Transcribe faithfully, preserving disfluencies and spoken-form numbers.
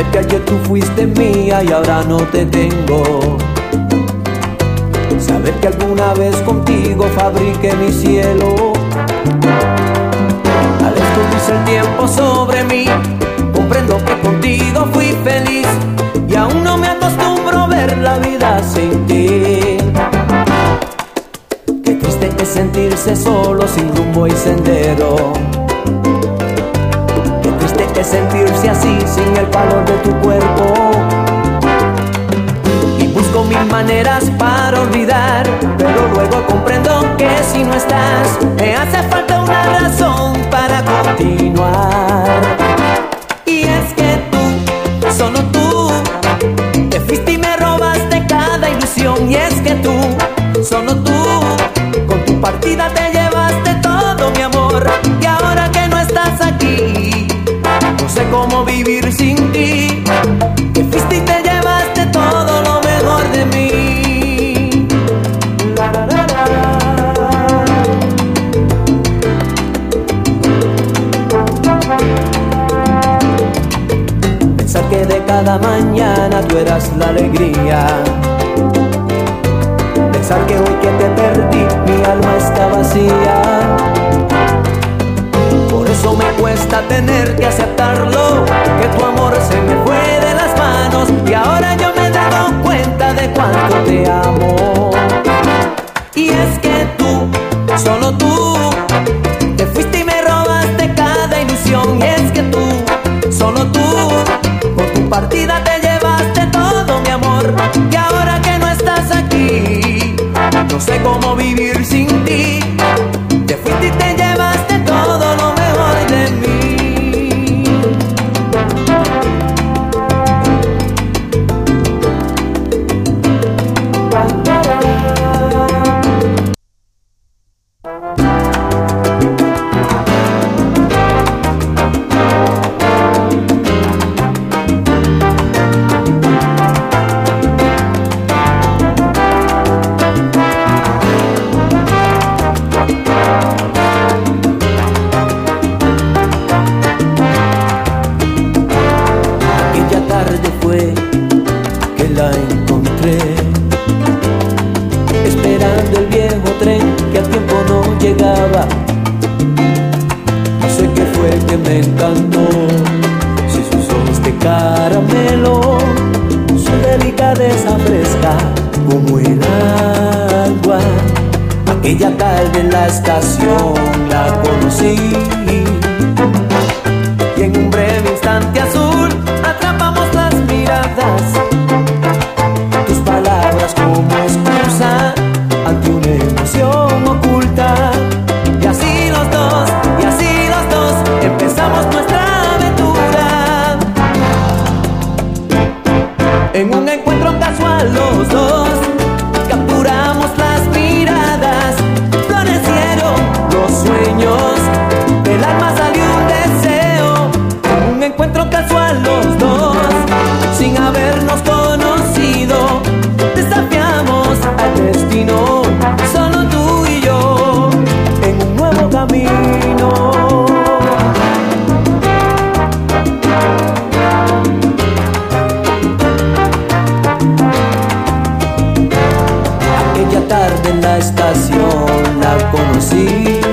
Saber que ayer tú fuiste mía y ahora no te tengo. Saber que alguna vez contigo fabriqué mi cielo. Al escurrirse el tiempo sobre mí, comprendo que contigo fui feliz y aún no me acostumbro a ver la vida sin ti. Qué triste es sentirse solo sin rumbo y sendero. Qué triste es sentirse así sin el calor de tu cuerpo. Y busco mil maneras para olvidar, pero luego comprendo que si no estás me hace falta una razón para continuar. Y es que tú, solo tú, te fuiste y me robaste cada ilusión. Y es que tú, solo tú, con tu partida te llevaste todo mi amor. Y ahora que no estás aquí, no sé cómo vivir sin ti. Te fuiste y te llevaste todo lo mejor de mí. La, la, la, la. Pensar que de cada mañana tú eras la alegría. Pensar que hoy que te perdí mi alma está vacía. Por eso me cuesta tener que aceptarlo, que tu amor se me fue de las manos y ahora yo me he dado cuenta de cuánto te amo. Y es que tú, solo tú, te fuiste y me robaste cada ilusión. Y es que tú, solo tú, con tu partida te llevaste todo mi amor. Y ahora que no estás aquí, no sé cómo vivir sin ti. Te fuiste y te llevaste todo lo mejor de mí. Esperando el viejo tren que a tiempo no llegaba. No sé qué fue que me encantó, si sus ojos de caramelo, su delicadeza fresca como el agua. Aquella tarde en la estación la conocí y en un breve instante azul atrapamos las miradas. Tus palabras como excusa ante una emoción oculta. Y así los dos, y así los dos empezamos nuestra aventura. En un encuentro casual los dos capturamos las miradas. Florecieron los sueños, del alma salió un deseo. En un encuentro casual los dos, sin habernos conocido, desafiamos al destino, solo tú y yo, en un nuevo camino. Aquella tarde en la estación la conocí